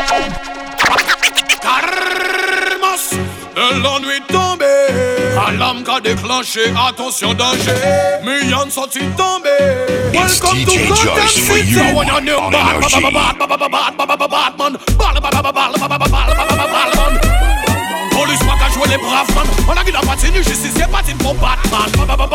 Carmas, la nuit tombée, alarme qu'a déclenché, attention danger. Millions sortis tombés. Welcome to Gotham City. When you new bad man. Police pas qu'à jouer les braves man. On a qui n'a pas tenu justice, c'est pas une pour Batman.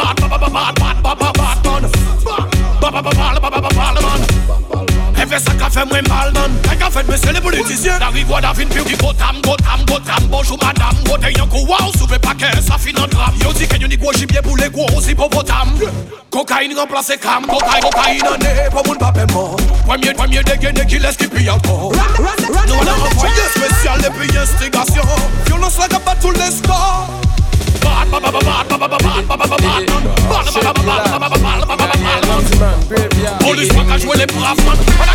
Elle fait ça qu'a fait moins mal man. Elle qu'a fait monsieur les politiciens. La rigole a vine puis Gotham. Bonjour madame. Gotham yon kou wow. Soupe paquet ça finit en drame. Yo dit que yon ni gros gibier pour les gros hippopotame. Cocaïne remplace cam. Cocaïne en est pour moun pas paiement. Premier dégaine qui laisse qui pille encore. Nous on a envoyé spécial depuis instigation. Violence la gabat tous les scores. Police pas qu'à jouer les braves man.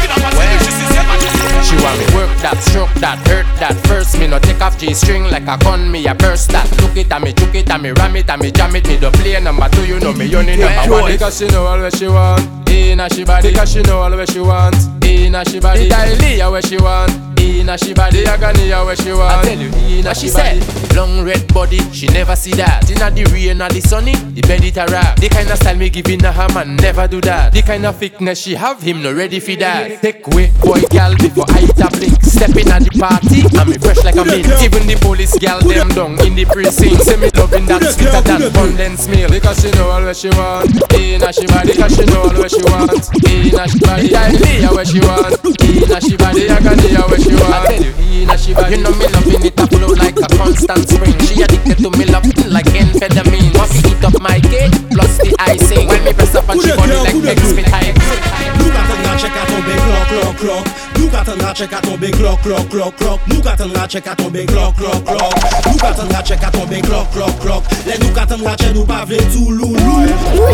She want me work that, stroke that, hurt that. First me no take off G-string like a gun, me a burst that. Look it at me, juke it at me, ram it at me, jam it. Me don't play number two, you know me only number one. Because she know all where she want, inna she body. Because she know all where she want, inna she body. Italia where she want, inna she body. Agania where she want, I tell you, inna she body. Long red body, she never see that. Inna the rain or the sunny, the bed it a rap. The kind of style me giving her man never do that. The kind of thickness she have, him no ready for that. Take away boy gal before I hit a blink. Step in at the party, and me fresh like a mint. Even the police gal them down in the precinct. Say me loving that sweeter than condensed milk. Because she know all where she want, inna she body. Because she know all where she want, inna she body. Italia where she want, inna she body. Agania where she want, I tell you, inna she body. You know me loving it a flow like a constant spring. She addicted to me loving like amphetamine. Want to eat up my cake plus the icing. When me press up and she body like X me type. Nous qu'attendra check à tomber clock. Nous qu'attendra check à tomber clock. Nous qu'attendra check à tomber clock. Nous qu'attendra check à tomber clock. Les nous qu'attendra check nous pas vle tout loulou.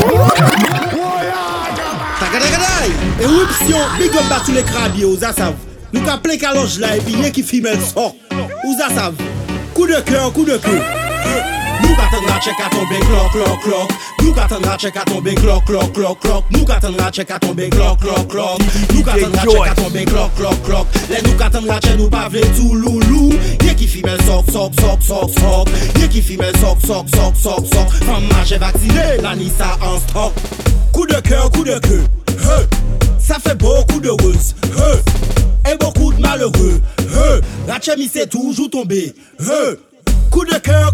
Tagadagadaï. Éruption, big up à tous les crabiers, aux assaves. Nous qu'a plein calonge là et puis y'a qui filme le sort. Aux assaves. Coup de cœur. Nous qu'attendra check à tomber clock. Nous qu'attendra check à tomber clock. Nous qu'attendra check à tomber clock. Nous qu'attendra check à tomber clock. Les nous qu'attendra check nous pas vle tout loulou. Y'a qui filme le sock. Y'a qui filme le sock. Femme marche vaccinée, la Nissa en stock. Coup de cœur. Ça fait beaucoup de ruse. Et beaucoup de malheureux. La chemise c'est toujours tombé. Coup de cœur,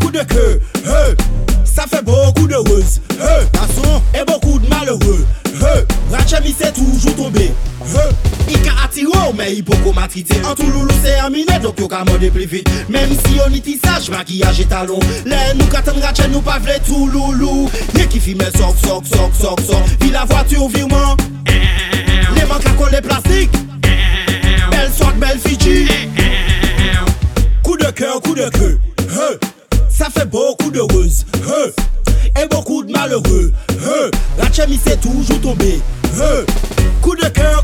ça fait beaucoup de ruse. Garçon, et beaucoup de malheureux. Rachemi c'est toujours tombé. Il a attiré, mais il peut matriter. En tout loulou c'est aminé, donc il a demandé plus vite. Même si on y tissage, maquillage et talon. Les nous qu'attendent Rachel, nous pas vle tout loulou. Y'a qui filme sock. Puis la voiture virement. Les manques à coller plastique. Belle sock, belle Fiji. Coup de cœur. Ça fait beaucoup de ruse. Et beaucoup de malheureux. La chemise c'est toujours tombé. Coup de cœur.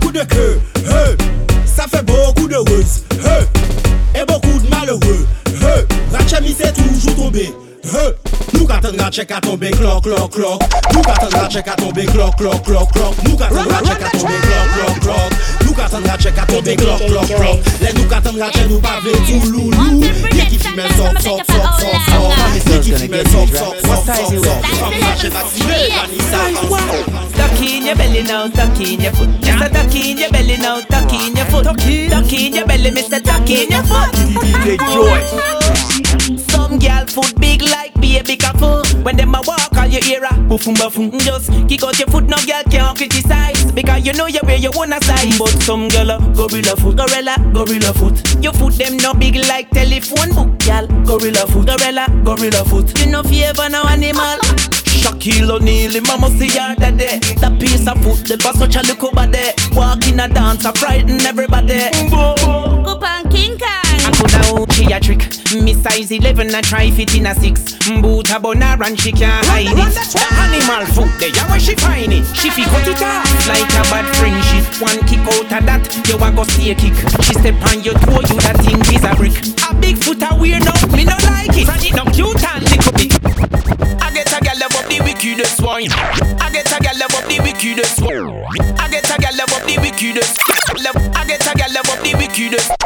Ça fait beaucoup de ruse. Et beaucoup de malheureux. La chemise c'est toujours tombé. Nous qu'attendra check à tomber clock. Nous qu'attendra check à tomber clock. Nous qu'attendra check à tomber clock. Nous qu'attendra check à tomber clock. Les nous qu'attendra check nous pas vle tout loulou. Y'a qui filme sock. Y'a qui filme sock. Femme marche vaccinée, la Nissa en stock. Tuck in your belly now, tuck in your foot. Just a tuck in your belly now, tuck in your foot. Tuck in your belly, Mr. Tuck in your foot. DJ Joy. Some girl foot big like baby careful. When them a walk on your ear, boofum. Just kick out your foot, no girl can't criticize. Because you know you wear your own size. But some girl gorilla foot. Your foot them no big like telephone book, girl. Gorilla foot. You know fever no animal. Shaquille O'Neal, mama see her daddy. That piece of foot, the boss such a little body. Walk in a dance, I frighten everybody. Coupon King Kong. I coulda she a trick. Me size 11, I try fit in a 6. Boot a boner and she can't hide it. The animal foot, there where she find it. She fi cut it off like a bad friendship. One kick out of that, you a go see a kick. She step on your toe, you that thing is a brick. A big foot a weird now, me no like it. And it no cute and little bit. I get a gal love up the wickedest one. I get a gal love up the wickedest one. I get a gal love up the wickedest. I get a gal love up the wickedest.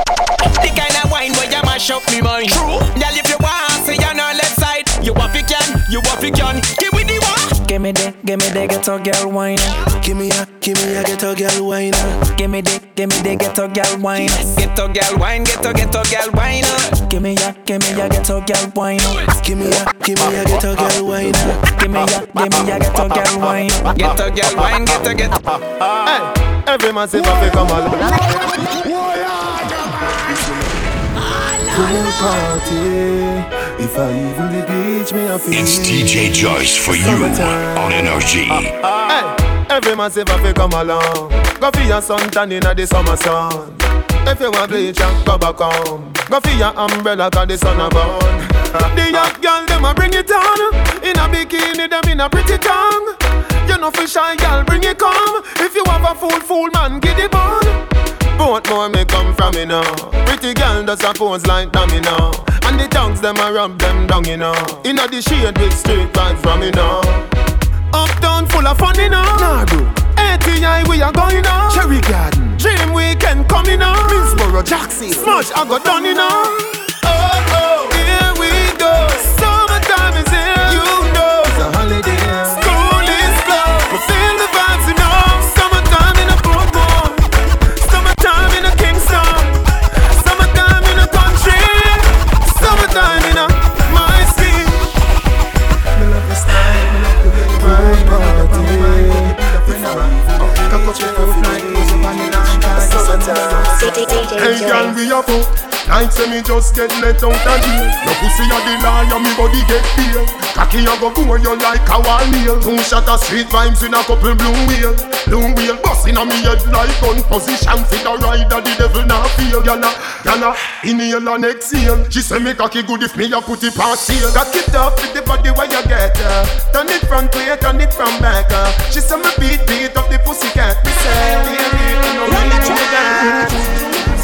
The kind of wine where you mash up me mind. True. Girl, if you want, say you're on left side. You want fi can, give me the one. Give me the ghetto girl wine. Give me a ghetto girl wine. Give me the ghetto girl wine. Ghetto girl wine, ghetto girl wine. Give me a ghetto girl wine. Give me a ghetto girl wine. Give me a ghetto girl wine. Ghetto girl wine, ghetto. Hey, every man say fi come along. Pool party. If I even the beach, me I feel. It's DJ Joyce for you on NRG. Hey, every man say fi come along. Go for your suntan inna the summer sun. If you want bleach, go back home. Go for your umbrella 'cause the sun a burn. The young girl them a bring it on. In a bikini, them in a pretty tongue. You know for shy girl, bring it come. If you have a fool man, get it on. Both more may come from me now. Pretty girl does a pose like dummy now. And the tongues them a rub them down, you know. Inna the shade with straight vibes from me now. Uptown full of fun, you know. Nardo, ATI we are going now. Cherry Garden, Dream Weekend coming now. Middlesboro, Jackson, Smash I got done, you know. Oh, here we go. Summertime is here, you know. It's a holiday. School is closed, we feel the vibes, you know. Summertime in a Portmore. Summertime in a Kingston. Summertime in a country. Summertime in a my city. Me love the style, me love the way you vibe party. Hey girl, we a fuck. Like say me just get let out of jail. No pussy a the liar, me body get pale. Cocky a go go you like a wall nail. 2 shot of street vibes in a couple blue wheel busting on me head like gun position. Fit a rider, the devil not feel. Yana, inhale and exhale. She say me cocky good if me a put it past heel. Cock it up with the body where you get turn it front way, turn it from back She say me beat up the pussy cat. Me say, run it to the dance.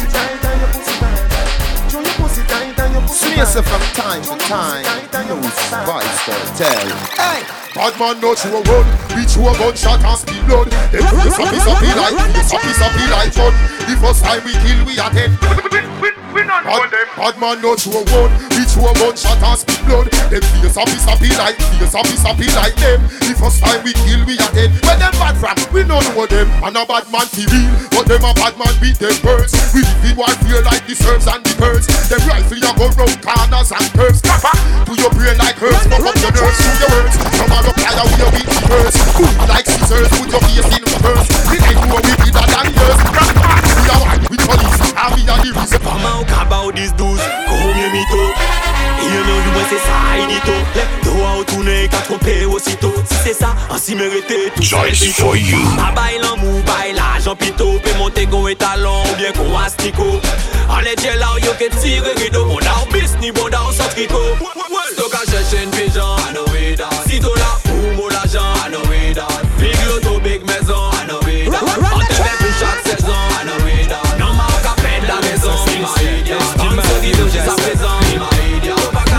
Yourself from time to time. Vice tell. Hey, bad man not you a run. Reach you a gunshot and speed blood. Them you sappy like fun. The first time we kill we are dead. Bad man not you a run. Reach you a gunshot and speed blood. Them feel sappy like them. The first time we kill we are dead. When them bad rap, we don't know them. And a bad man feel real, but them a bad man beat them birds. We live in warfare like the Serbs and the Kurds. Them rifle ya go round corners and curves. To your brain like herbs. Fuck up your nerves through your words. Tomorrow fly with your weak words. Like scissors, put your face in reverse. We ain't know we did that and years. We are one with police, and we are the reason. Come out about these dudes, come here me tôt. You know you want c'est ça, il dit tôt. Dois retourner qu'à tromper aussitôt. Si c'est ça, ainsi mérité tout ça. Joyce for you. A bail en mou, bail l'argent pito. Peut monter qu'on est talon ou bien qu'on astico. En les gels là, yo que tire rideau. Bon d'art bis, ni bon d'art sans tricot. Stock à chercher une pigeon, I know it all. Sitôt là, pour mon l'argent, I know it all. Big loto, big maison, I know it all. On te fait pour chaque saison, I know it all. Non, ma au café de la maison, my idiot. On se dit de sa présence, my idiot.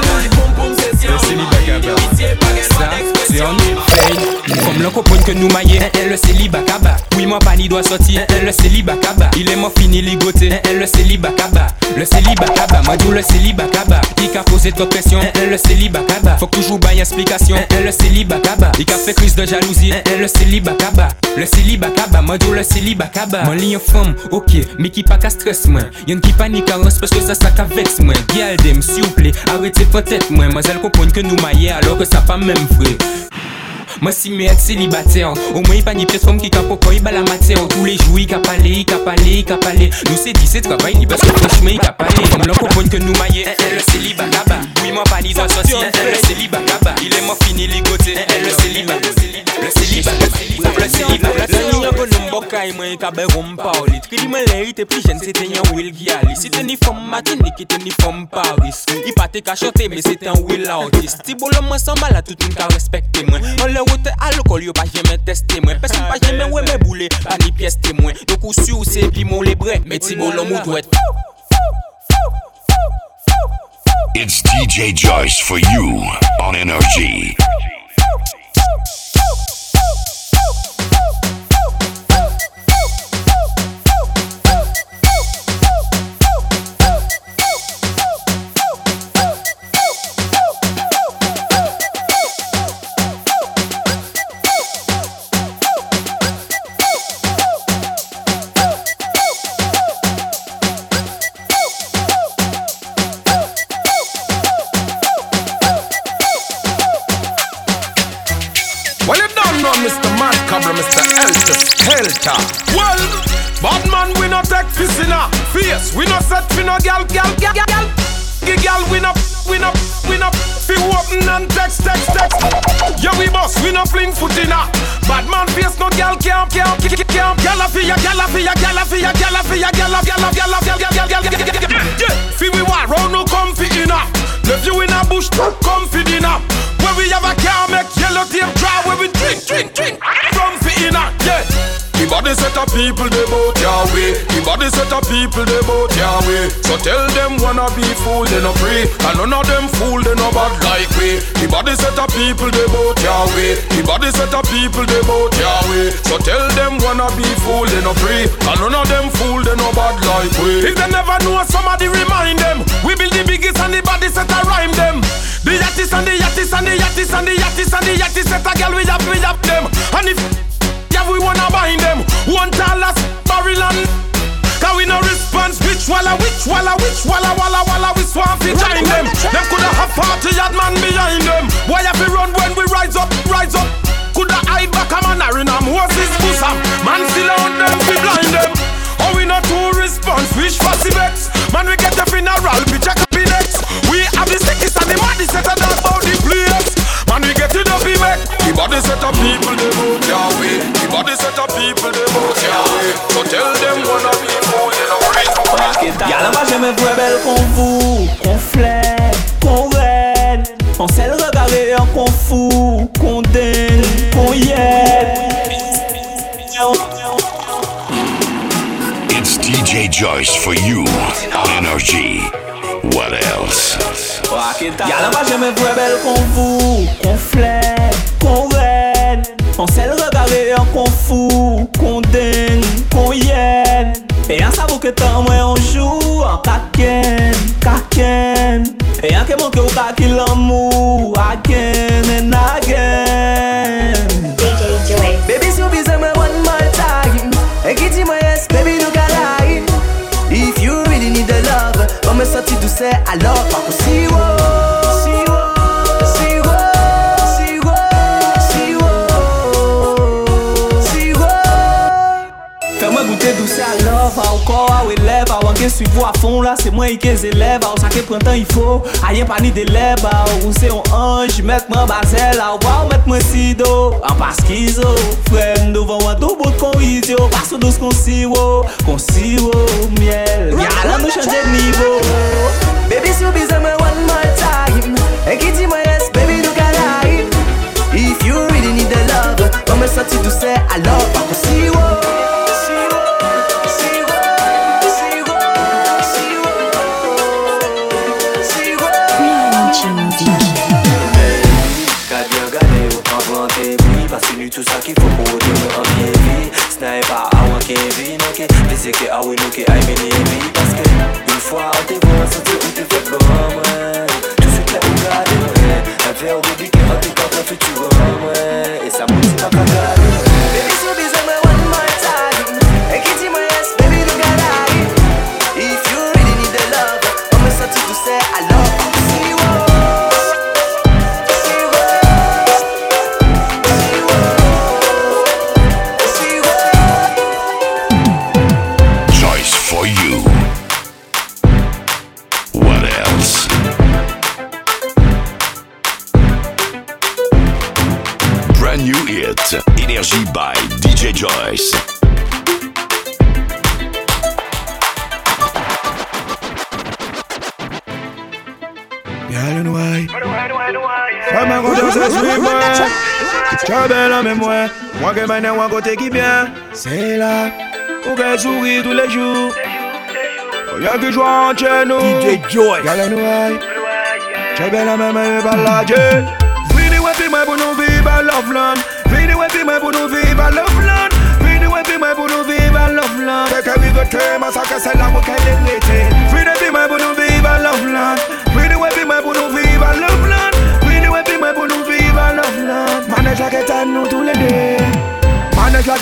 C'est en nous, comme l'on comprend que nous maillons, le célibat kaba. Oui, mon pani doit sortir, le célibat kaba. Il est mort fini ligoté, le célibat kaba. Le célibat kaba, moi d'où le célibat kaba. Qui a posé trop de pression, le célibat kaba. Faut toujours bailler explication, le célibat kaba. Il a fait crise de jalousie, le célibat kaba. Le célibat kaba, moi d'où le célibat kaba. Mon ligne femme, ok, mais qui pas qu'à stress moi. Y'en qui panique à parce que ça qu'à vex moi. Galdem, s'il vous plaît, arrêtez peut-être moi. Moi elle comprend que nous maillons alors que ça pas même vrai. Moi si mais être célibataire, au moins il pas ni pièce comme qui capo quand il bat la matière. Tous les jours il a parlé. Nous c'est dit c'est travail ni parce que franchement il a parlé. Comme l'on comprend que nous maillons, le célibat kaba. Oui moi pas ni doit sortir, le célibat kaba. Il est mort fini ligoté, le célibat. Le célibat. La ligne que nous m'bocaille moi il cabe rom parler. Tri moi l'air était plus jeune c'était un Will Giali. C'était ni femme Martinique c'était ni femme Paris. Il pas te qu'à chanter mais c'était un Will artiste. Tibo l'homme ensemble là tout une qu'à respecter moi. Route alcool yo pas jamais testé moi. Personne pas jamais ouais mes boulets pas ni pièce témoin. Donc ou sur c'est puis mon les brais. Mais Tibo l'homme doit être. It's DJ Joyce for you on NRG. helter. Well, bad man we no take piss in a face. We no set fi no gal. Gal we no fi open and text. Yeah we boss, we no fling foot in a. Bad man face no gal can't. Gal a fi ya. Fi we war round no comfy in a. Left you in a bush, comfy dinner. Where we have a car make yellow tape dry. Where we drink comfy in a. Yeah. The body set of people they bout your way. The body set of people they bout your way. So tell them wanna be fool they no free. And none of them fool they no bad like we. The body set of people they bout your way. The body set of people they bout your way. So tell them wanna be fool they no free. And none of them fool they no bad like we. If they never know somebody remind them. We build the biggest and the body set a rhyme them. The yattis and the yattis and the yattis and the yattis and the yattis set a girl we have them. And if we wanna bind them. One $1 barrel and cause we no response. Which walla we swamp fi join them. Them coulda have party yard man behind them. Why have we run when we rise up? Coulda hide back a man or in a Moses bosom. Man still on them fi blind them. Oh we no two response. Wish for vex. Man we get the funeral. We check up the next. We have the stickies and the money set a dance about the place. Man we get it up the back. The body set of people they vote your way. The body set of people they vote your way. So tell them wanna be fool in a way. Y'a là-bas jamais vrai belle qu'on vous, qu'on flaire, qu'on raide. On sait le regarder et qu'on fout, qu'on dingue, qu'on yelle. It's DJ Joyce for you on Energy. What else? Y'a là-bas jamais vrai belle qu'on vous, qu'on flaire, qu'on raide. On sait le regarder et qu'on fout, qu'on dingue, qu'on yelle. Et un savou que tant moi on joue en kaken. Et un que manque au kaki l'amour, again and again. DJ Joy. Baby so busy me one more time. Et qui dit moi yes, baby look alive. If you really need the love, on me sorti douce alors pas aussi fais-moi goûter douce à love, encore à élève, avant que suivre à fond là, c'est moi qui les élève, à ça que printemps il faut, à rien pas ni d'élève, ou c'est un ange, mettre moi basel, à voir mettre moi sido, en pas schizo, frère devant moi tout bout de convisio, passe douce con sirop, miel, y'a là nous changer de niveau. Baby so busy me one more time, et qui dit moi yes, baby look alive. If you really need the love, on me sorti douce alors pas possible. Tout ça qu'il faut pour dire en bien vie. Ce n'est pas à moi qui vit, non qui disait que ah oui, nous qui aime les vies. Parce que une fois on te voit, ça te où tu fais comme moi. Tout ce que tu as regardé, ouais. Un verre au début qui rentre quand on fait tu vois, ouais. Et ça motive pas qu'à garder. Baby, so busy, me one more time. Et qui dit moi yes, baby, look alive. If you really need the love, on me sorti tout ça alors. Energy by DJ Joyce. Girl, you know why? Femme go just as we were. Trouble en mémoire. Moi que maintenant un côté qui bien. C'est là où qu'elle sourit tous les jours. Y'a que joie en chez nous. DJ Joyce. Girl, you know why? Trouble en mémoire, balade. Fini ouais puis moi pour nous vivre love land. Fini ouais puis moi pour nous vivre love land. Fini ouais puis moi pour nous vivre love land. Fait que we go terme à ça que c'est là où qu'elle est l'été. Fini puis moi pour nous vivre love land. Fini ouais puis moi pour nous vivre love land. Fini ouais puis moi pour nous vivre love land. Manage la quête à nous tous les deux. Manage la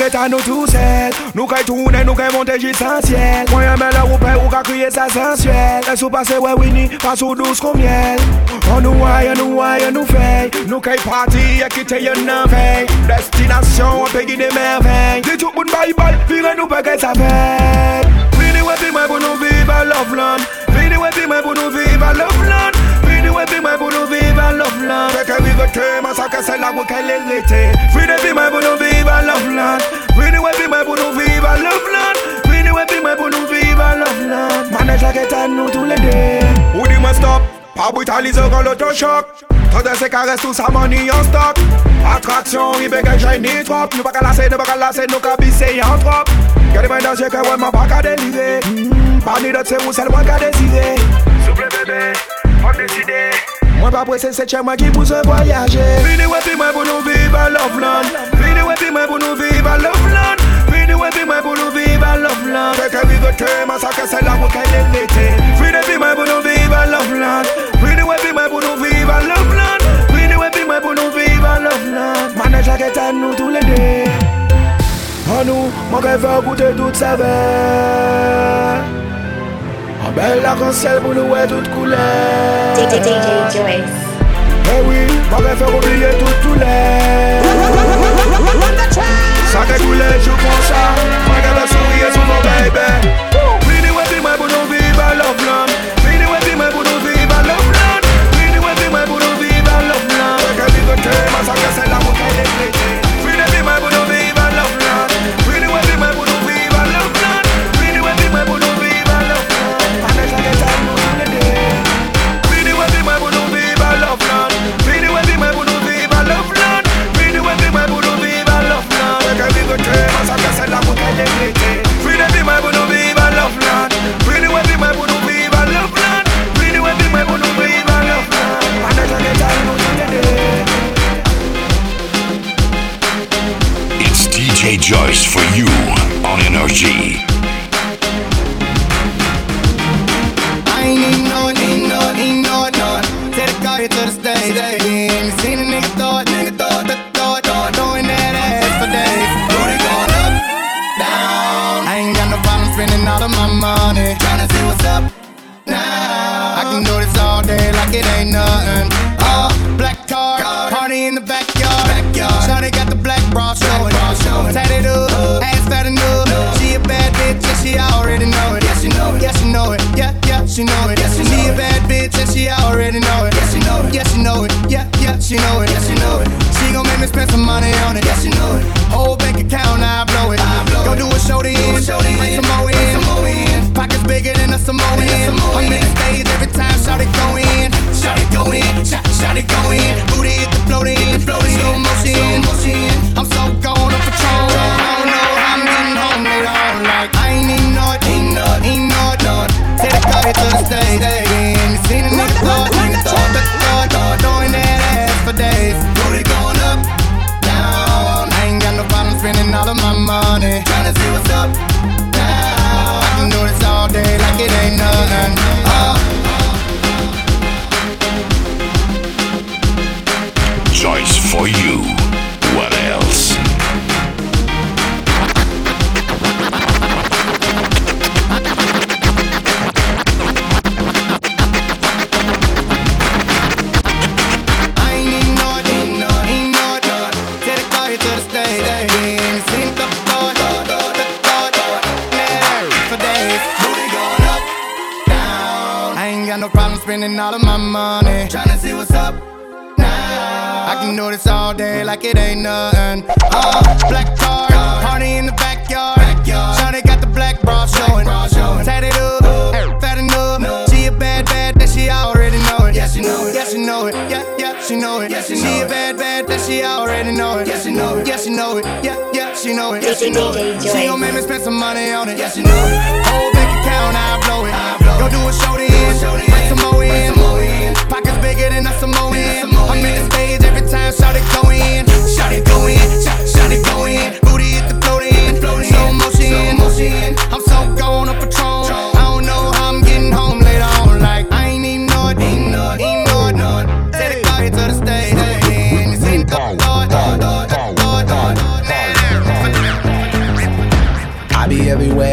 est à nous tous seuls. Nous qu'à tourner, nous qu'à monter jusqu'en ciel. Moi y'a la roupe ou qu'à crier ça sensuel. Laisse-nous passer ouais Winnie, pas sous douce comme miel. On nous voit, nous fait. Nous qu'à partir, y'a quitté y'a n'en veille. Destination, on peut guider merveilles. Dis tout le monde bye-bye, vire nous pas qu'elle s'appelle. Vini ouais puis moi pour nous vivre à Loveland. Vini ouais puis moi pour nous vivre à Loveland. Vini ouais puis moi pour nous vivre à Loveland. Fait que vive que ça que c'est là où qu'elle est l'été. Vini puis moi pour nous vivre à Loveland. Vini ouais puis moi pour nous vivre à Loveland. Vini ouais puis moi pour nous vivre à Loveland. Manège la guette à nous tous les deux. Ou dis-moi stop, pas brutaliser quand l'autochoc. Tandis que caresse tout ça money en stock. Attraction, il bégaye j'ai ni trop. Nous pas qu'à lasser, nous qu'à bisser en trop. Gardez-moi dans ce que ouais m'a pas qu'à délivrer. Pas ni d'autres c'est où c'est le moins qu'à décider. Souple bébé, on décide. Moi pas pressé c'est chez moi qui pousse à voyager. Vini ouais puis moi pour nous vivre à Loveland. Vini ouais puis moi pour nous vivre à Loveland. Vini ouais puis moi pour nous vivre à Loveland. Fait que vive que ma sac c'est là où qu'elle est l'été. Vini puis moi pour nous vivre à Loveland. Vini ouais puis moi pour nous vivre à Loveland. Vini ouais puis moi pour nous vivre à Loveland. Manège la guette à nous tous les deux. En nous, mon rêve va goûter toute saveur. En belle arc-en-ciel pour nous et toute couleur. DJ Joyce. Eh oui, mon rêve va oublier toute douleur. Ça fait couler, je prends ça. Regarde la souris sur mon baby. Vini ouais puis moi pour nous vivre à Loveland. Vini ouais puis moi pour nous vivre à Loveland. Vini ouais puis moi pour nous vivre à Loveland. Fait que vive que ma ça que c'est là où qu'elle est l'été. Vini puis moi pour nous vivre à Loveland. Vini ouais puis moi pour nous vivre à Loveland. Vini ouais puis moi pour nous vivre à Loveland. Manège la guette à nous tous les deux. Vini ouais puis moi pour nous vivre à Loveland. Vini ouais puis moi pour nous vivre à Loveland. Vini ouais puis moi pour nous vivre à Loveland. Fait que vive que ma ça que c'est là où qu'elle est l'été. Vini puis moi pour nous vivre à Loveland. Vini ouais puis moi pour nous vivre à Loveland. Vini ouais puis moi pour nous vivre à Loveland. Manège la guette à nous tous les deux. It's DJ Joyce for you on Energy. I ain't need no. Take the car here to the stage. Ain't seen a nigga thought, throwing that ass for days. Booty going up, down. I ain't got no problem spending all of my money. Tryna see what's up now. I can do this all day like it ain't nothing. Black car, party in the backyard. Shawty got the black bra showing. Tatted up, ass fat enough. She a bad bitch and she already know it. Yeah, she know it. Yeah, she know it. Yeah, she know it. She a bad bitch and she already know it. Yeah, she know it. Yeah, she know it. Yeah, she know it. Yeah, she know it. She gon' make me spend some money on it. Yeah, she know it. Whole bank account, I blow it. Go do a show to end. Bring some more in. Pockets bigger than a Samoan. I'm in the stage every time. Shout it go in. Shout it go in. Shout it go in. Booty hit the floating. Slow motion. I'm so gone on patrol. I don't know how I'm getting home later on. Like I ain't need no. Take the car here to the stage. You seen a nigga thought, throwing that ass for days. Booty going up, down. I ain't got no problem spending all of my money. Tryna see what's up now. I can do this all day like it ain't nothing. Joyce for you. What else? Spending all of my money, tryna see what's up now. I can do this all day like it ain't nothing. Black car, party in the backyard. Shawty got the black bra showing. Tatted up, fat enough. She a bad that she already know it. Yeah, she know it. Yeah, she know it. Yeah, she know it. She a bad that she already know it. Yeah, she know it. Yeah, she know it. Yeah, she know it. She gon' make me spend some money on it. Yeah, she know it. Whole bank account, I blow it. Go do a show to end. Bring some more in. Pockets bigger than a Samoan. I'm in the stage every time. Shout it go in. Shout it go in. Booty hit the floating. Slow motion. I'm so gone on patrol. I don't know how I'm getting home later on. Like I ain't even know it. Take the car here to the stage. You seen the thought.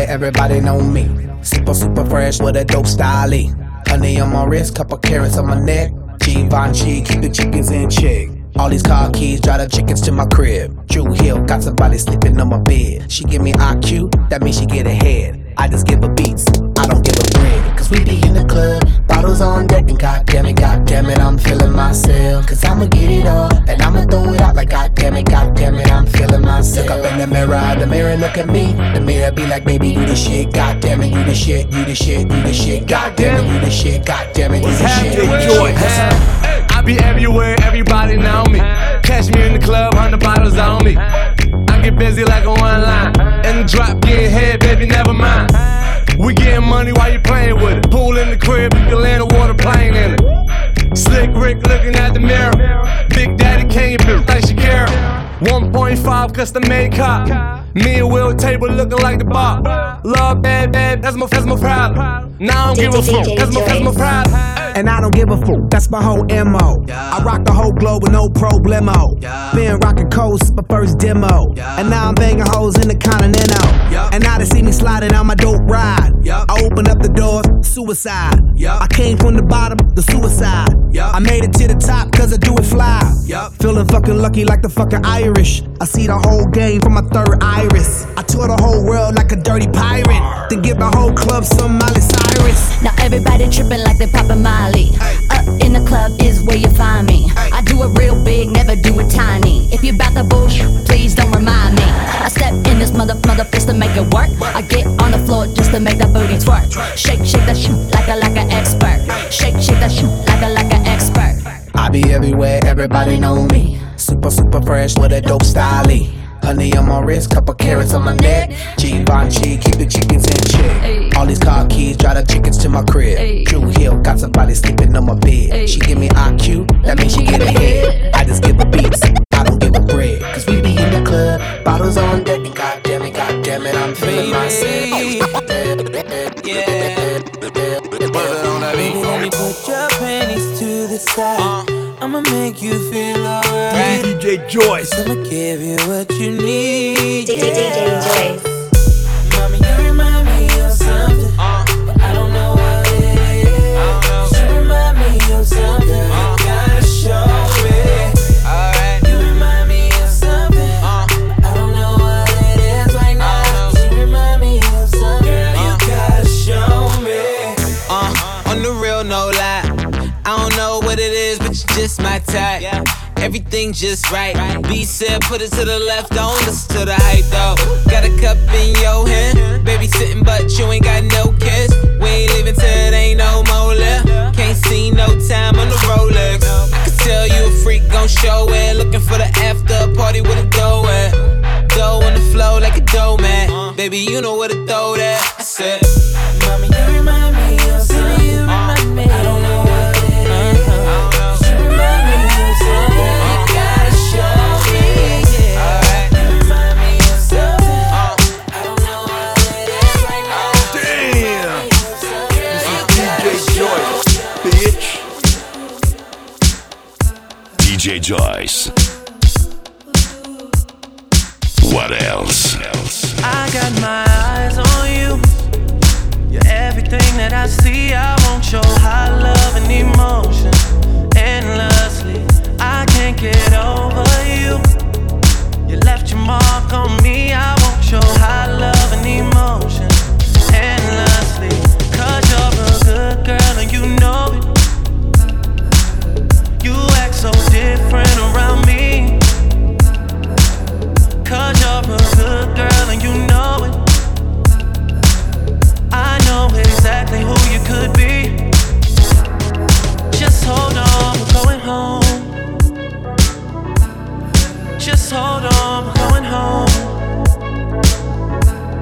everybody know me. Super, super fresh with a dope style. Honey on my wrist, couple carrots on my neck. Givenchy, keep the chickens in check. All these car keys, drive the chickens to my crib. Drew Hill, got somebody sleeping on my bed. She give me IQ, that means she get ahead. I just give her beats, I don't give her bread. Cause we be in the club, bottles on deck, and goddamn it, I'm feeling myself. Cause I'ma get it all, and I'ma throw it out like goddamn it, I'm feeling myself. Look up in the mirror look at me. The mirror be like, baby, you the shit, goddamn it, you the shit, you the shit, you the shit, goddamn it, you the shit, goddamn it, you the shit. I be everywhere, everybody know me. Catch me in the club, 100 bottles on me. I get busy like a one line. In the drop, get head, baby, never mind. We getting money while you playing with it. Pool in the crib, you can land a water plane in it. Slick Rick looking at the mirror. Big Daddy Kane, bitch like Shakira. 1.5 custom made cop. Me and Will table looking like the bar. Love bad, that's my problem. Now I don't give a fuck, that's my problem. And I don't give a fuck, that's my whole MO. I rock the whole globe with no problemo. Been rockin' coast, my first demo. And now I'm banging hoes in the Continental. And now they see me sliding on my dope ride. I open up the doors, suicide. I came from the bottom, the suicide. I made it to the top cause I do it fly. Feeling fucking lucky like the fucking Irish. I see the whole game from my third iris. I tour the whole world like a dirty pirate. Then give the whole club some Miley Cyrus. Now everybody tripping like they poppin' Miley. Up in the club is where you find me. I do it real big, never do it tiny. If you bout the bullshit, please don't remind me. I step in this mother fist to make it work. I get on the floor just to make that booty twerk. Shake that shit like an expert. Shake that shit like an expert. I be everywhere, everybody know me. Super, super fresh with a dope style. Honey on my wrist, couple carrots on my neck. Givenchy, keep the chickens in check. All these car keys, drive the chickens to my crib. Drew Hill, got somebody sleeping on my bed. She give me IQ, that means she get ahead. I just give her beats, I don't give her bread. Cause we be in the club, bottles on deck, and goddamn it, I'm feeling myself. Baby, let me put your panties to the side. I'ma make you feel alright. DJ Joyce. I'ma give you what you need. DJ Joyce. Mommy, you remind me of something, but I don't know what it is. You remind me of something, you gotta show me. Alright. You remind me of something, but I don't know what it is right now. You remind me of something, you gotta show me. On the real, no lie. I don't know what it is, but you're just my type. Everything just right. B said, put it to the left, don't listen to the hype though. Got a cup in your hand, baby sitting, but you ain't got no kiss. We ain't leaving till it ain't no more left. Can't see no time on the Rolex. I could tell you a freak gon' show it. Looking for the after party with a dough at. Dough on the flow like a dough man. Baby, you know where to throw that. I said, Mommy, you remind me of something. You remind me. I don't know what it is. You remind me of something. You gotta show me. You remind me of something. I don't know what it is right now. Damn. This is DJ Joyce, bitch. DJ Joyce. What else? I got my eyes on you. You're everything that I see. I want your high love and emotion endlessly. I can't get over you. You left your mark on me. I want your high love and emotion endlessly. Cause you're a good girl and you know it. You act so different around me. Cause you're a good girl and you know it. I know exactly who you could be. Just hold on, we're going home. Just hold on, we're going home.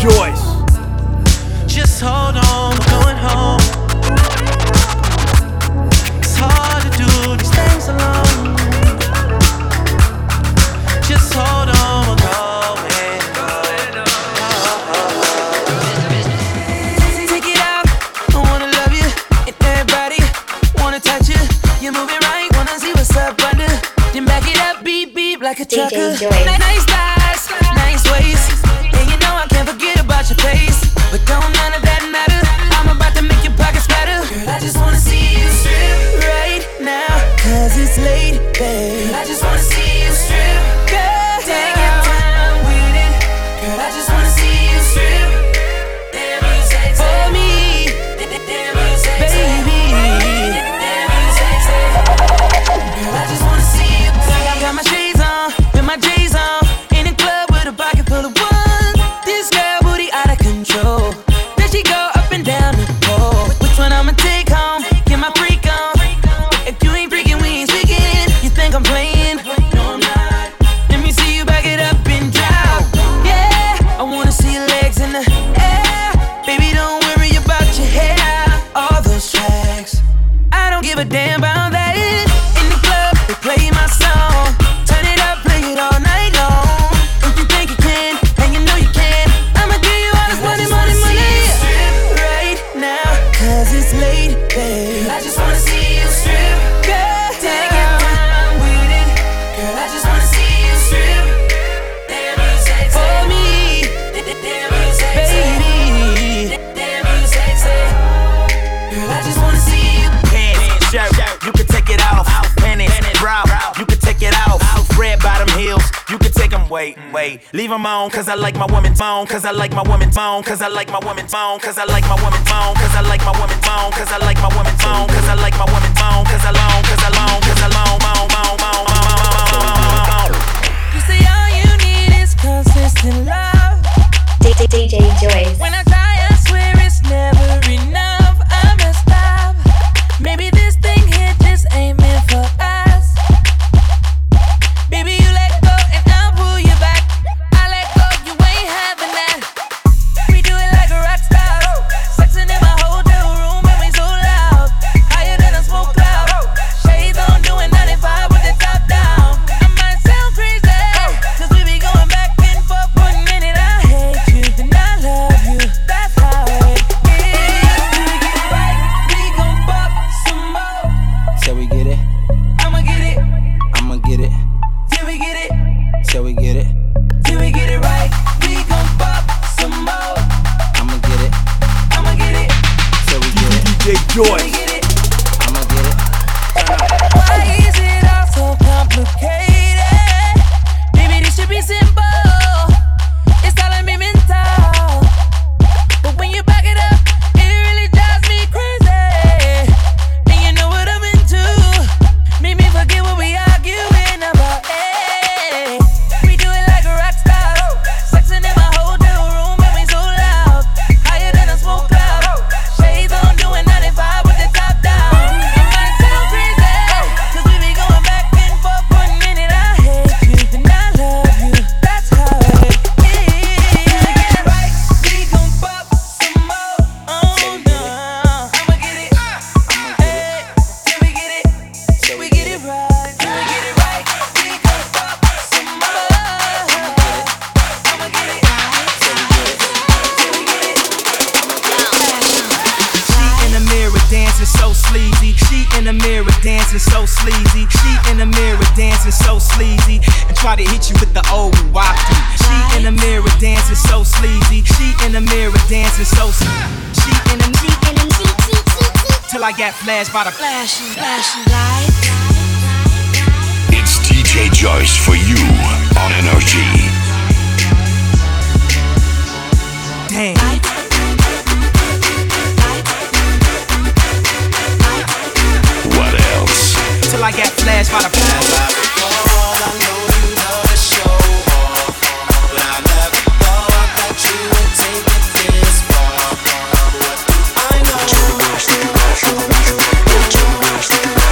Joyce. Just hold on, we're going home. It's hard to do these things alone. Just hold on, we're going home. Take it out, I wanna love you. And everybody wanna touch you. You're moving right, wanna see what's up under. Then back it up, beep beep like a trucker. Nice thighs, nice waist. And you know I can't forget about your face. But don't none of that matter. I'm about to make your pockets better. Girl, I just wanna see you strip right now, 'cause it's late, babe. I just wanna see you strip. Girl, take your time with it. Girl, I just wanna see you strip. Damn, you sexy. For me, damn, you sexy. Baby, damn, you sexy. Girl, I just wanna see you. Got my shades on, with my J's on. In the club with a pocket full of ones. This girl booty out of control. Then she go up and down the pole. Which one I'ma take home? Get my freak on. If you ain't freaking, we ain't speaking. You think I'm playing? No, I'm not. Let me see you back it up and drop. Yeah, I wanna see your legs in the air. Baby, don't worry about your hair. All those tracks, I don't give a damn about that. In the club, they play my song. Turn it up, play it all night long. If you think you can, and you know you can, I'ma give you all this money, money, money. Right now, 'cause it's late, babe. I just wanna see you strip. Girl, take your time with it. Girl, I just wanna see you strip. Damn, you sexy. For me, damn, you sexy. Baby, damn, you sexy. Girl, I just wanna see you. Pants, shirt, you can take it off. Panties, bra, you can take it off. Red bottom heels, you can take them. Wait, leave them on, 'cause I like my woman's phone. 'Cause I like my woman's phone. 'Cause I like my woman's phone. 'Cause I like my woman's phone. 'Cause I like my woman's phone. 'Cause I like my woman's phone. 'Cause I like my woman's phone. 'Cause I long, 'cause I long, 'cause I long, You say all you need is consistent love. DJ Joyce. When I die, I swear it's never enough. I messed up. Maybe this thing here just ain't meant for us. Baby, you let go and I'll pull you back. I let go, you ain't having that. We do it like a rock star. Sexing in my hotel room and we so loud. Higher than a smoke cloud. Shades on, doing 95 with the top down. I might sound crazy, 'cause we be going back and forth. 1 minute I hate you, then I love you. That's how it is. Till we get it right, we gon' fuck some more. Till we get it, I'ma get it. I'ma get it. Till we get it. Till we get it, Till we get it right, we gon' fuck some more. I'ma get it. I'ma get it. Till we get it, DJ Joyce. I'ma get it. Why is it all so complicated? Maybe this should be simple. It's all in me mental. But when you back it up, it really drives me crazy. And you know what I'm into. Make me forget what we arguing about. Hey, we do it like a rock star. Sexing in my hotel room and we so loud. Higher than a smoke cloud. Shades on, doing 95 with the top down. It might sound crazy, 'cause we be going back and forth. 1 minute I hate you, then I love you. That's how it is. Right, we gon' fuck some more. Oh no, I'ma get it. Hey, till we get it, till we get it right, till we get it right. We gon' fuck some more. I'ma get it. She in the mirror dancing so sleazy. She in the mirror dancing so sleazy. She in the mirror dancing so sleazy. And try to hit you with the old wacky. She in the mirror dancing so sleazy. She in the mirror dancing so sleazy. She in the till I got flashed by the flashing lights. It's DJ Joyce for you on Energy. Damn. What else? Till I got flashed by the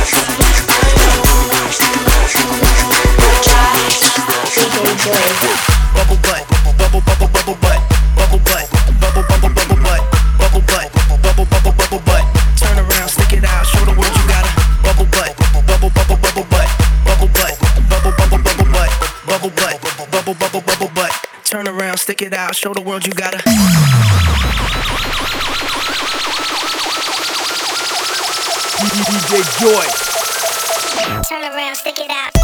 DJ Joyce. Turn around, stick it out, show the world you gotta. DJ Joy. Turn around, stick it out.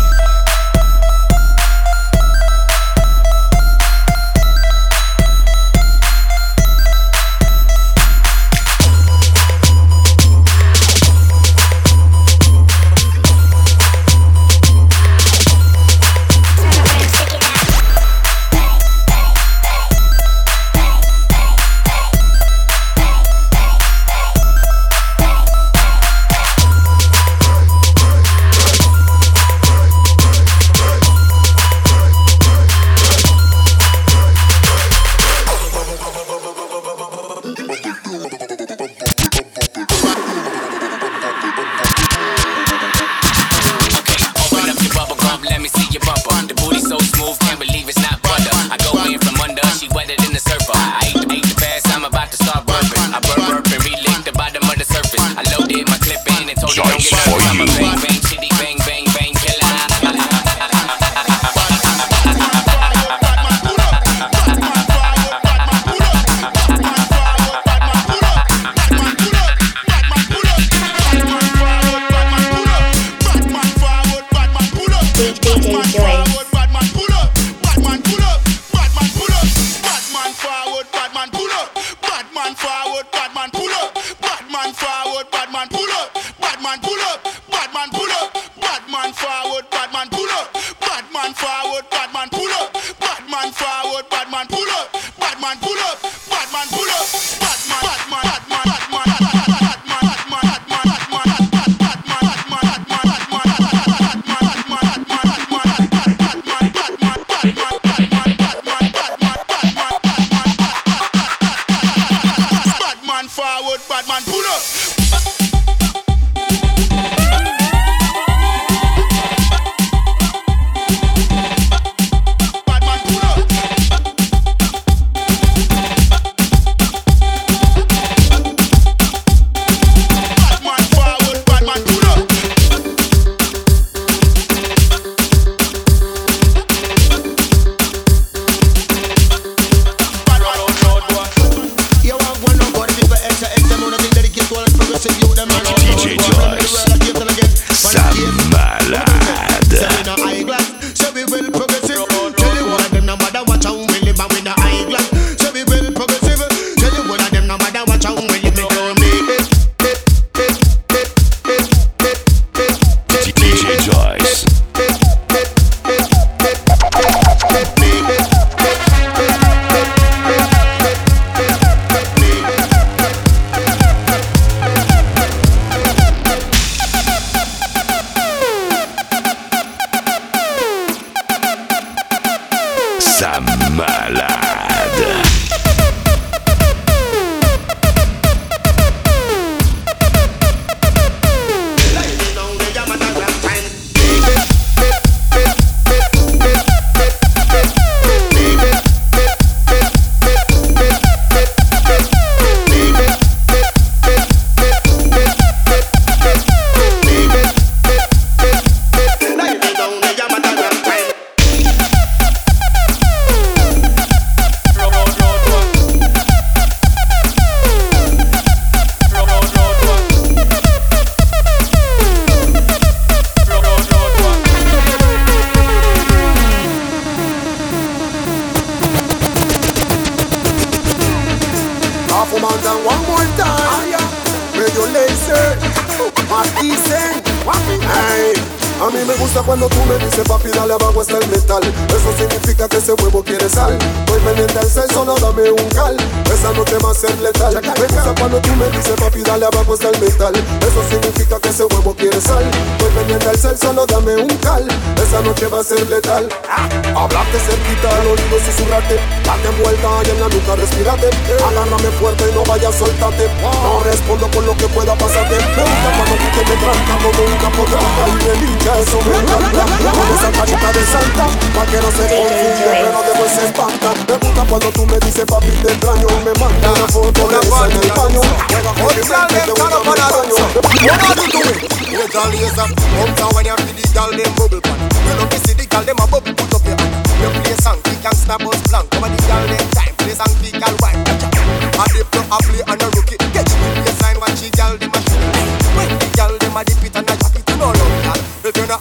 A mí me gusta cuando tú me dices papi dale abajo está el metal. Eso significa que ese huevo quiere sal. Estoy pendiente al sexo, no dame un cal. Esa noche va a ser letal. Me gusta cuando tú me dices papi dale abajo está el metal. Eso significa que ese huevo quiere sal. Estoy pendiente al sexo, no dame un cal. Esa noche va a ser letal. Hablarte cerquita al oído, susurrarte. Date vuelta y en la nuca respirate. Agárrame fuerte y no vayas, soltate. No respondo por lo que pueda pasarte. Me gusta cuando tú te me tranca como un capotranca. Y me lincha, eso me encanta. Con esa carita de santa, pa' que no se confunda, pero después se espanta. Me gusta cuando tú me dices papi te extraño. Me manda una foto de esa en el baño. Juega con mi mente, te voy a mi baño. What are you doing? Wait all years up. Come down when you feel the girl them bubble pan. You know me see the girl them a bubble, put up your hand. You play a song, the gangsta bus blank. Come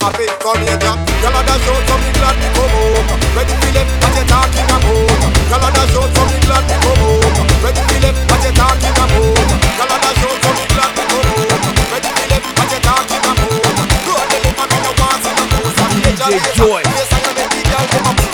happy, come here, Jack. Y'all are the show, so me glad to come home. Ready for them, what you talking about? Y'all are the show, so me glad to come home. Ready for them, what you talking about? Y'all are the show, so me glad to come home. Ready for them, what you talking about? Go on, let me know what's in the house. DJ Joy. Yes, I know the big girl, come up.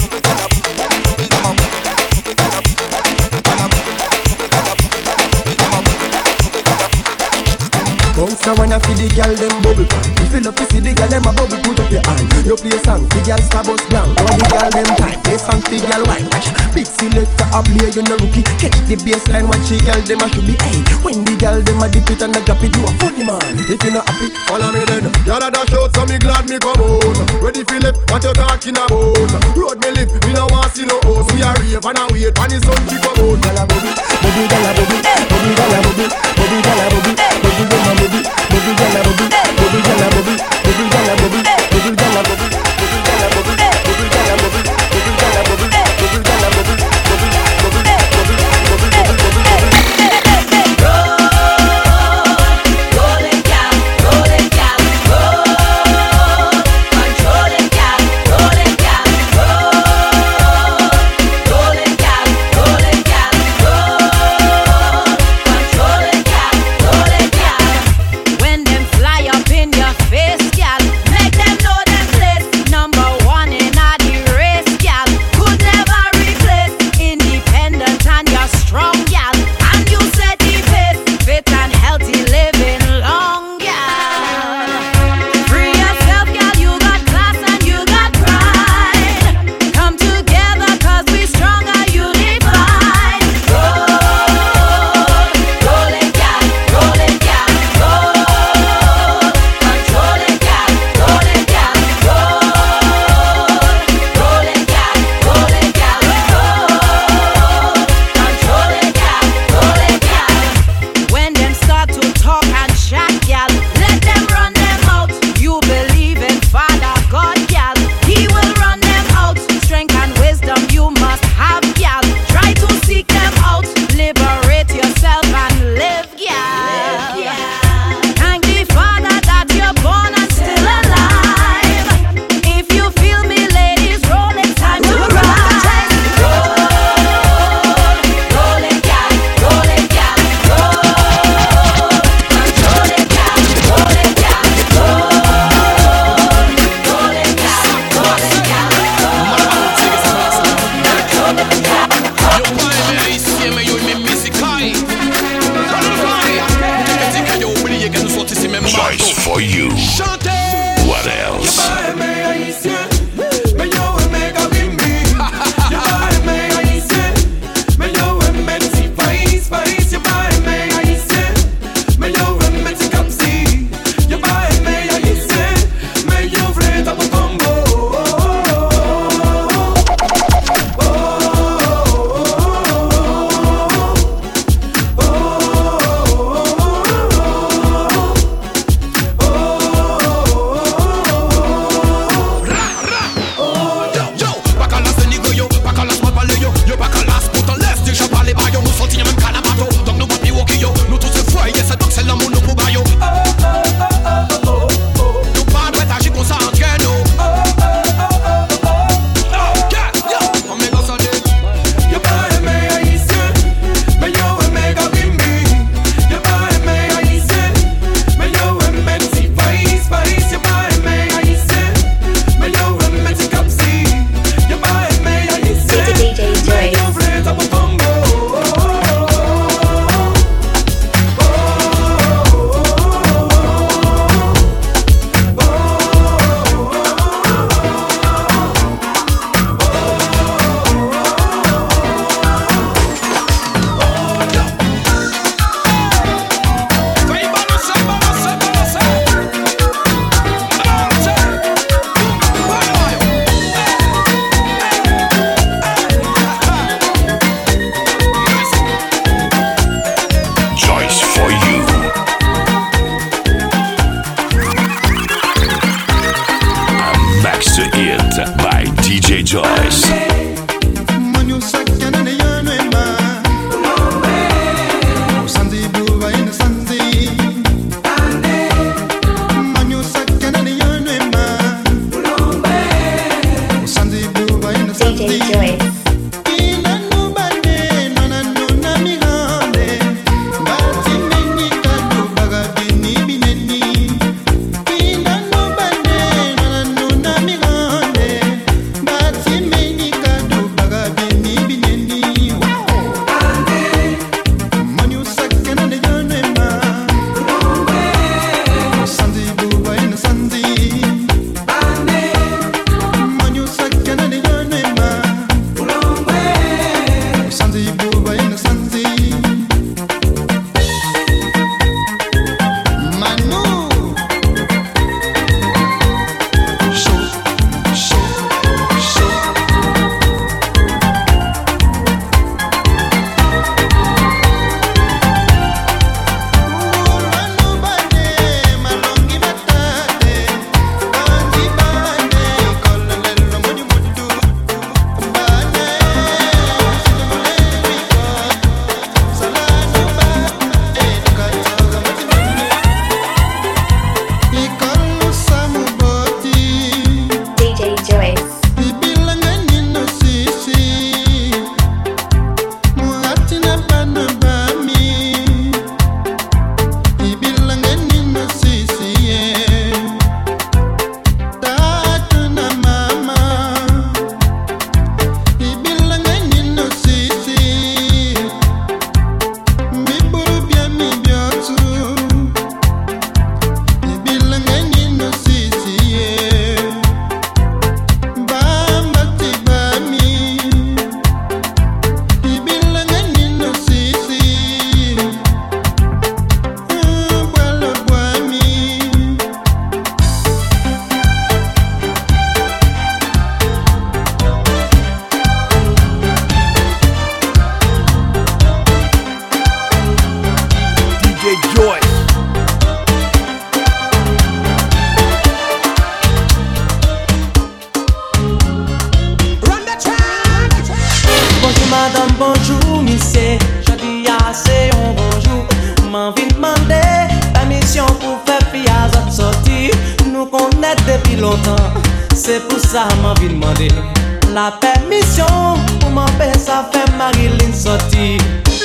Bounce now when I see the girl them bubble. If you love to see the girl them a bubble, put up your hand. You play song, the girl star bust down. All the girl them time, play song, the girl white. Big selector a play, you no rookie. Catch the baseline, watch the girl them a should be. Hey, when the girl them a dip it and a drop it, you a funny man. If you not happy, follow me then. Y'all a dash out, so me glad me come on. Ready for left, what you talking about? Road me live, me no want see no house. We a rave and a wait, when the sun to come out. Girl a bubble, bubble, girl a bubble, bubble, girl a bubble, bubble, girl a bubble, bubble, girl a bubble. Bubble gala bubble, bubble gala bubble, bubble gala bubble, bubble gala bubble, bubble gala bubble, bubble gala bubble, bubble gala bubble, bubble gala bubble, Rolling down, rolling down, roll. Controlling down, rolling down, roll. Rolling down, rolling down, roll. Controlling down, rolling down. When them fly up in your face, madame, bonjour, monsieur. Je dis assez un bonjour. M'envie demander permission pour faire fille à notre sortie. Nous connaissons depuis longtemps. C'est pour ça m'envie demander la permission pour m'empêcher ça faire Marilyn sortir.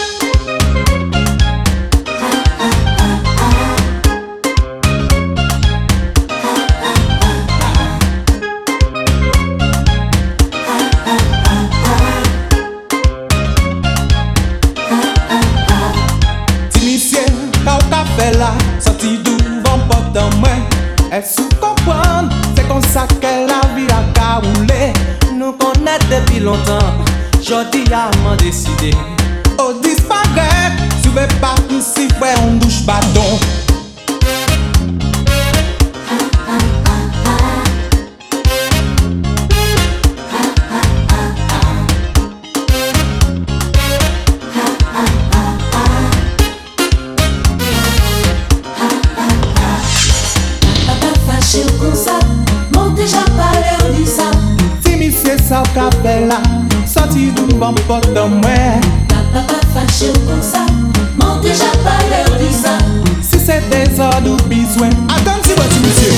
Là, sorti devant porte en main. Est-ce que comprendre? C'est comme ça que la vie a caroulé. Nous connaissons depuis longtemps. Jodi a m'en décidé. Oh, disparaît. Tu veux pas tout si ouais, on bouge bâton. Ça qu'a fait là, sorti devant porte en main. Papa fâché comme ça, mon déjà pas l'heure du ça. Si c'est des ordres ou besoin, attends si votre monsieur.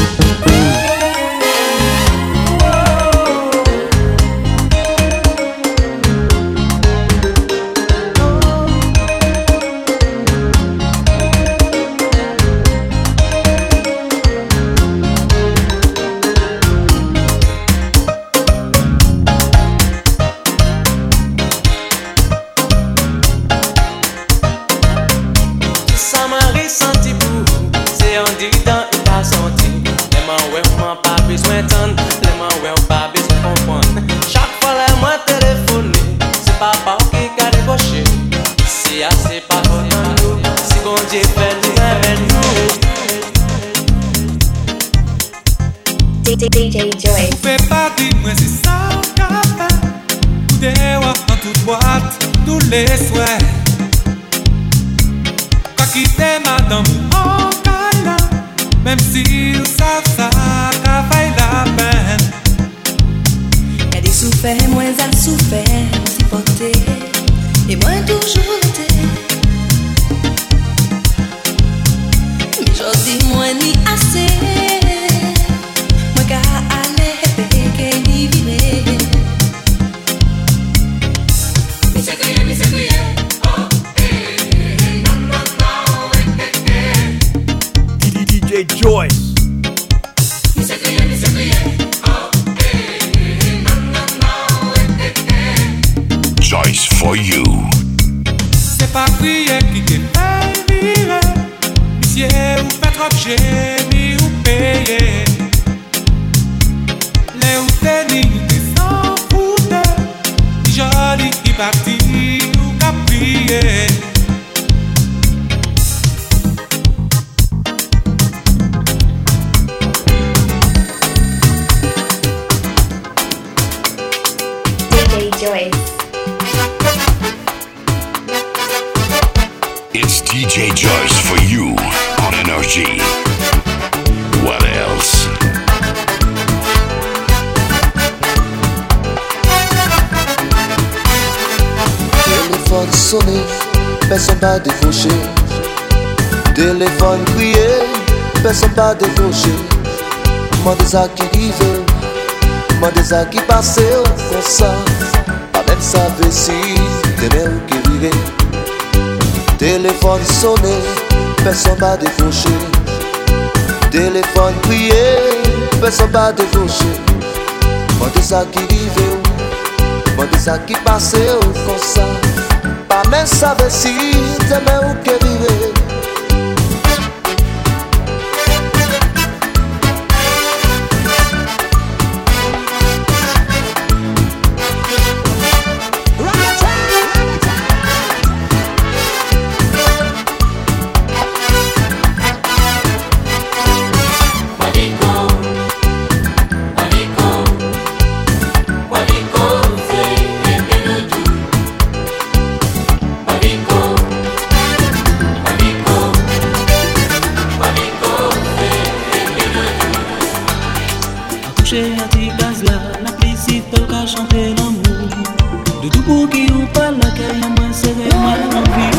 DJ Joy. Fais pas de moi c'est ça qu'a fait. Des en toute boîte, tous les soirs. Pas quitter madame en câlin. Même si nous savons ça, qu'a fait la peine. Y'a des souffert, moins à souffert, supporter. Et moi toujours été. Mais j'en dis moi ni assez. DJ Joyce. Joyce for you. C'est pas prier qui te fait vivre. Monsieur, ou fait trop génie ou payer. Les ou tenir ou te s'en foutre. Joli qui parti ou qu'a prier. It's DJ Joyce for you on Energy. What else? Téléphone sonné, personne pas décroché. Téléphone crié, personne pas décroché. Moi des qui rive, moi des qui passe comme ça. Pas même savoir si demain ou qui virait. Téléphone sonné, personne pas décroché. Téléphone crié, personne pas décroché. Moi des qui rive, moi des qui passe comme ça. Pas même savoir si demain ou qui virait. De tout pour qui ou pas la caille, moi c'est moi l'envie.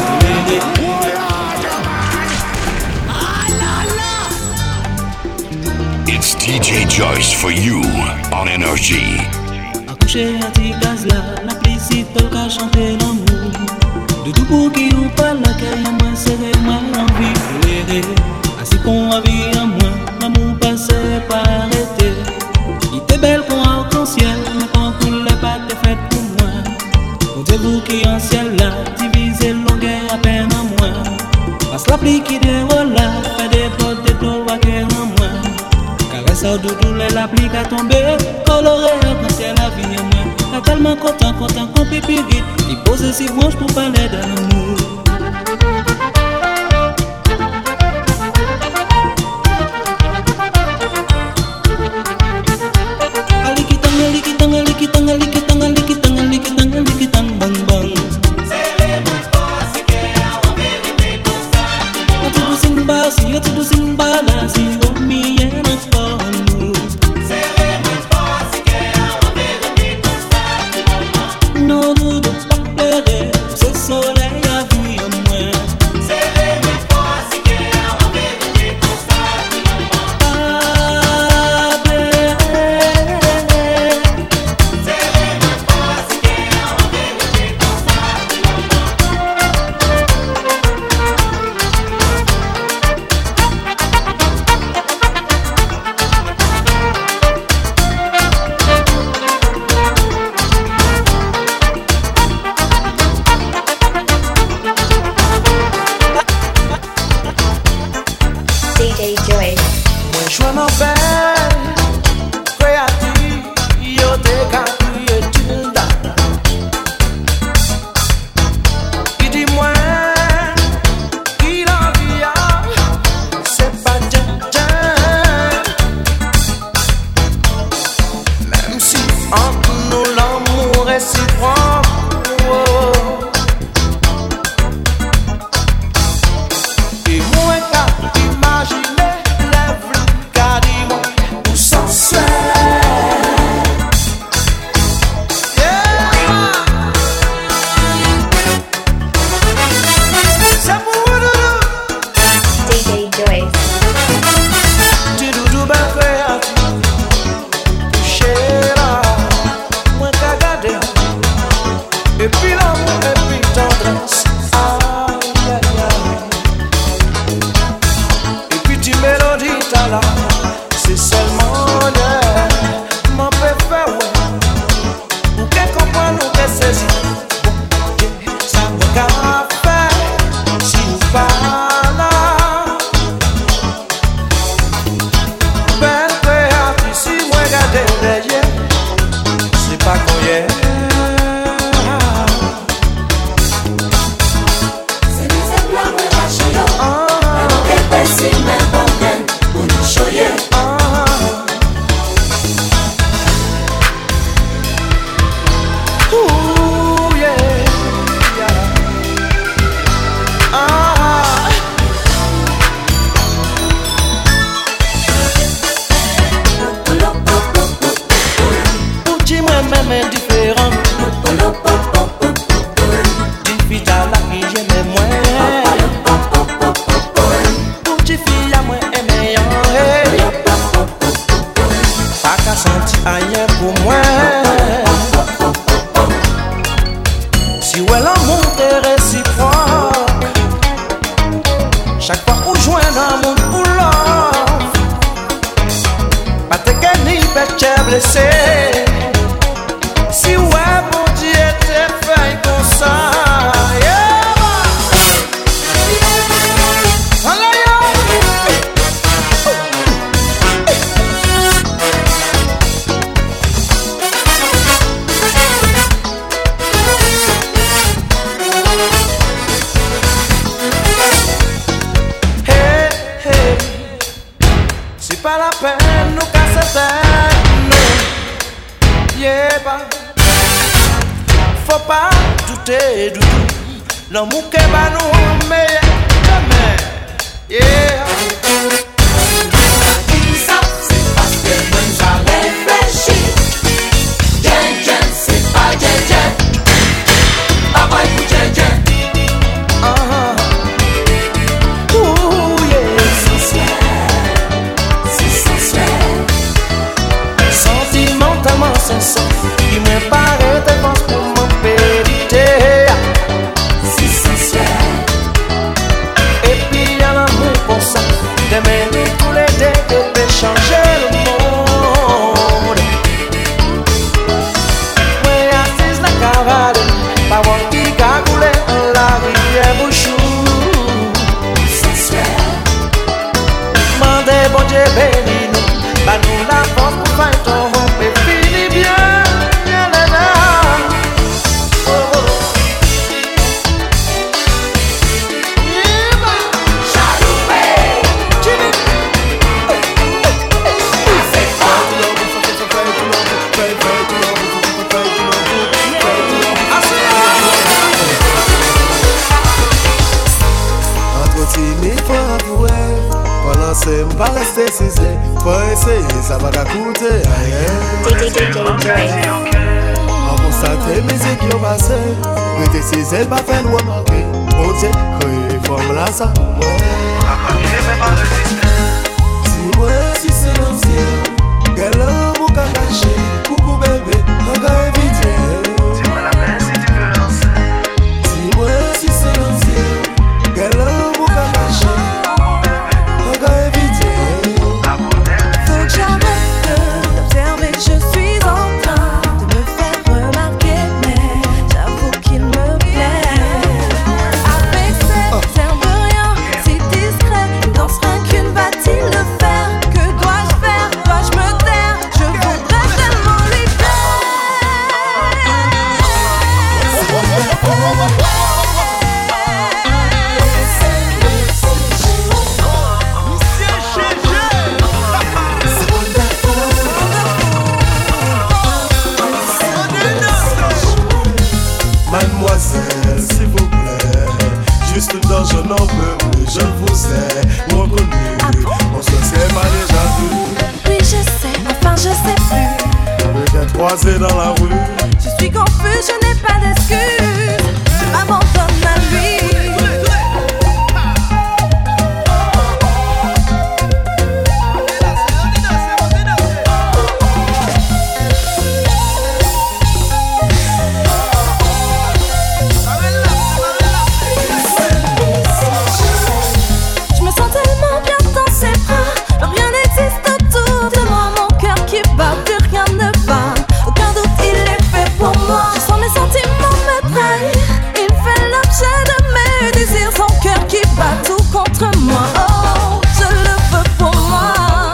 It's DJ Joyce for you on Energy. Accoucher à tes gaz là, la plicite qu'à chanter l'amour. De tout pour qui ou pas la caille, moi c'est moi l'envie. Ainsi qu'on a vu à moi, l'amour passait pas arrêté. Il était belle comme arc-en-ciel, mais quand tout les pas t'es fait pour moi. Comptez-vous qui en ciel là, divisé longueur à peine en moins. Passe la pluie qui déroule là, fait des potes de l'eau à cœur en moins. Caresse au doudou, la pluie qui a tombé, coloré arc-en-ciel la vie en moins. T'as tellement content qu'on pipi vite, il pose si branche pour parler d'amour. L'amour que va nous meilleur jamais. Yeah. Ça, c'est parce que moi j'ai réfléchi. Jen, c'est pas Jen. passer, m'pas rester cisé. Faut essayer, ça va coûter. En constater musique qui ont passé. Mais t'es cisé, pas fait nous remarquer. Bon Dieu, quand forme là ça. Dis-moi si c'est l'ancien. Quel homme qu'a caché. Coucou bébé, on va éviter. Dis-moi la peine si tu veux lancer. Dis-moi si c'est l'ancien. Quel homme qu'a caché. On va éviter. Faut que j'arrête d'observer, je suis en train de me faire remarquer, mais j'avoue qu'il me plaît. Avec cet air de rien, si discret, il dansera qu'une va-t-il le faire? Que dois-je faire? Dois-je me taire? Je voudrais tellement lui Mademoiselle, s'il vous plaît, juste dans je n'en peux plus, je vous ai reconnu. On se serait pas déjà vu. Oui, je sais, enfin je sais plus. Peut-être croisé dans la rue. Je suis confus, je n'ai pas d'excuses. Je m'abandonne à lui. Je me sens tellement bien dans ses bras. Rien n'existe autour de moi. Mon cœur qui bat, plus rien ne va. Aucun doute, il est fait pour moi. Je sens mes sentiments me trahir. Il fait l'objet de mes désirs. Son cœur qui bat tout contre moi. Oh, je le veux pour moi.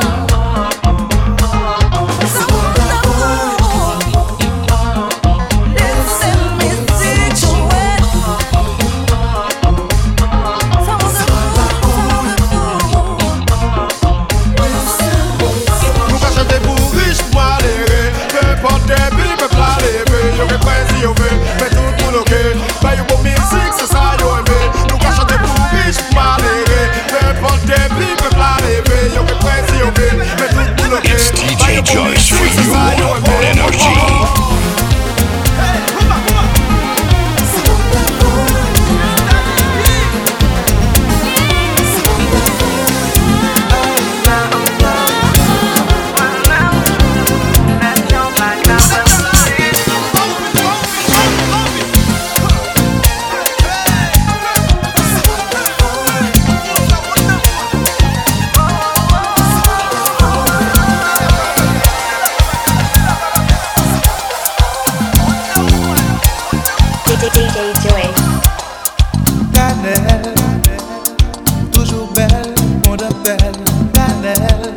C'est mon amour. Laissez musique jouer. Nous pas chanter pour riche, moi les peu importe des billes, me plat les vœux. Yo que presse, yo veut, mais tout le monde ok. Bah yo bon musique, c'est ça yo aimé. Nous pas chanter pour riche, moi les peu importe des billes, me plat les vœux. Yo que presse, yo veut, mais tout le monde ok. It's DJ Joyce for you on Energy. Cannelle, toujours belle, on appelle Cannelle.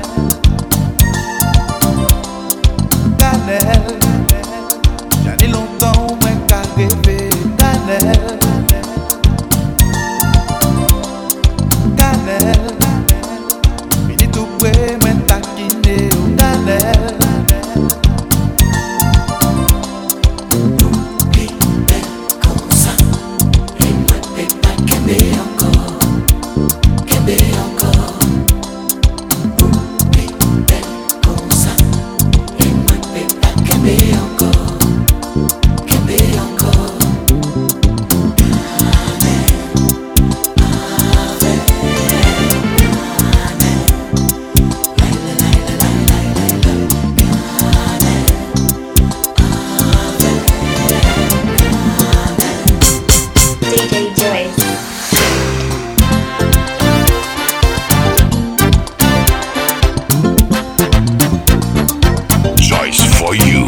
Cannelle, j'en ai longtemps moins qu'à rêver. Cannelle, Cannelle, fini tout près, moins taquiner. Cannelle. Joyce for you.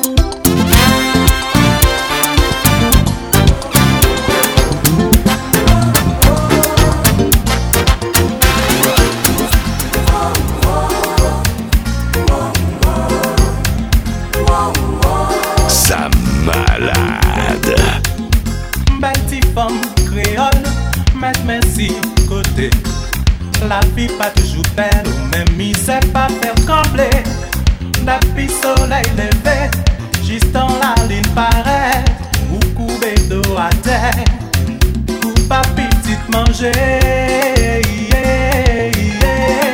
Ça malade. Belle petite femme créole, mettre merci côté. La vie pas toujours belle, ou même il sait pas faire trembler. Depuis soleil levé, juste dans la ligne paraît. Ou couper d'eau à terre, ou pas petite manger. Yeah, yeah.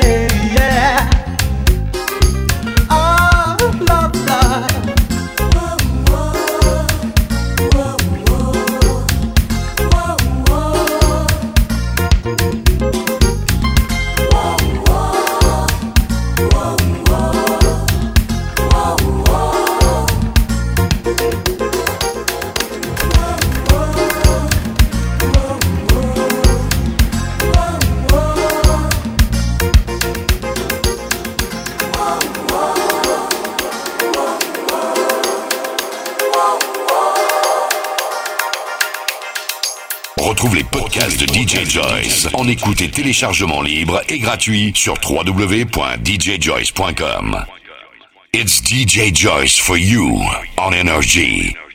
Retrouve les podcasts de DJ Joyce en écoute et téléchargement libre et gratuit sur www.djjoyce.com. It's DJ Joyce for you on Energy.